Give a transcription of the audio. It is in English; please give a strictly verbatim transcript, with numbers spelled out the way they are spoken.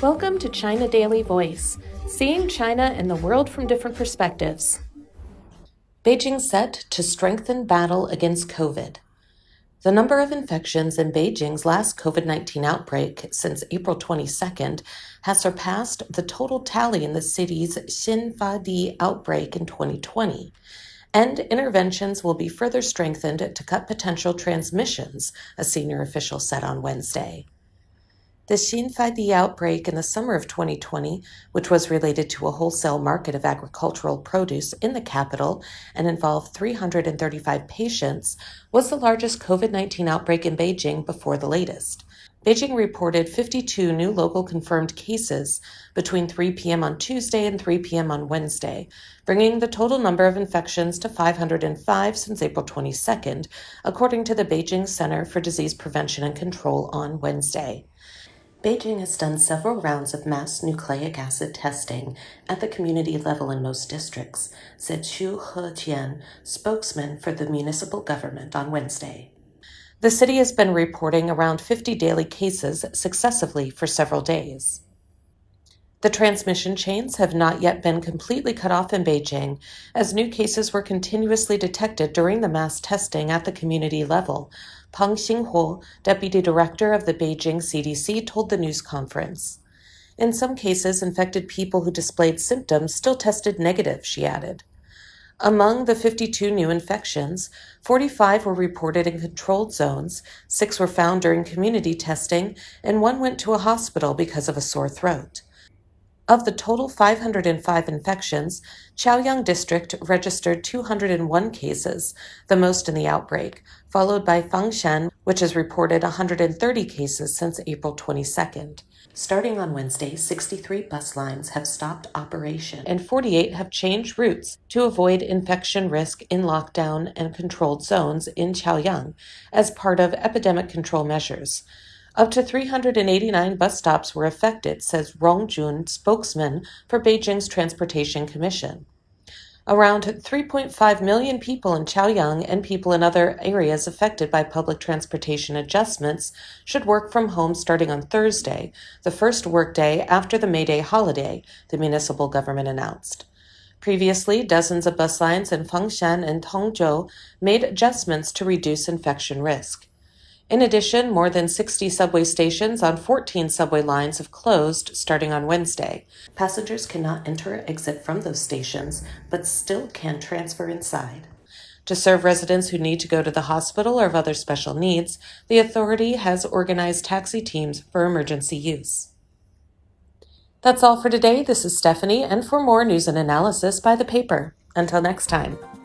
Welcome to China Daily Voice, seeing China and the world from different perspectives. Beijing set to strengthen battle against COVID. The number of infections in Beijing's last COVID nineteen outbreak since April twenty-second has surpassed the total tally in the city's Xinfadi outbreak in twenty twenty, and interventions will be further strengthened to cut potential transmissions, a senior official said on Wednesday. The Xinfadi outbreak in the summer of twenty twenty, which was related to a wholesale market of agricultural produce in the capital and involved three hundred thirty-five patients, was the largest COVID nineteen outbreak in Beijing before the latest. Beijing reported fifty-two new local confirmed cases between three p.m. on Tuesday and three p.m. on Wednesday, bringing the total number of infections to five hundred five since April twenty-second, according to the Beijing Center for Disease Prevention and Control on Wednesday. Beijing has done several rounds of mass nucleic acid testing at the community level in most districts, said Xu Hejian, spokesman for the municipal government on Wednesday. The city has been reporting around fifty daily cases successively for several days. The transmission chains have not yet been completely cut off in Beijing, as new cases were continuously detected during the mass testing at the community level, Peng Xinghuo, deputy director of the Beijing C D C, told the news conference. In some cases, infected people who displayed symptoms still tested negative, she added. Among the fifty-two new infections, forty-five were reported in controlled zones, six were found during community testing, and one went to a hospital because of a sore throat. Of the total five hundred five infections, Chaoyang District registered two hundred one cases, the most in the outbreak, followed by Fangshan, which has reported one hundred thirty cases since April twenty-second. Starting on Wednesday, sixty-three bus lines have stopped operation, and forty-eight have changed routes to avoid infection risk in lockdown and controlled zones in Chaoyang as part of epidemic control measures. Up to three hundred eighty-nine bus stops were affected, says Rong Jun, spokesman for Beijing's Transportation Commission. Around three point five million people in Chaoyang and people in other areas affected by public transportation adjustments should work from home starting on Thursday, the first workday after the May Day holiday, the municipal government announced. Previously, dozens of bus lines in Fangshan and Tongzhou made adjustments to reduce infection risk. In addition, more than sixty subway stations on fourteen subway lines have closed starting on Wednesday. Passengers cannot enter or exit from those stations, but still can transfer inside. To serve residents who need to go to the hospital or have other special needs, the authority has organized taxi teams for emergency use. That's all for today. This is Stephanie, and for more news and analysis, buy the paper. Until next time.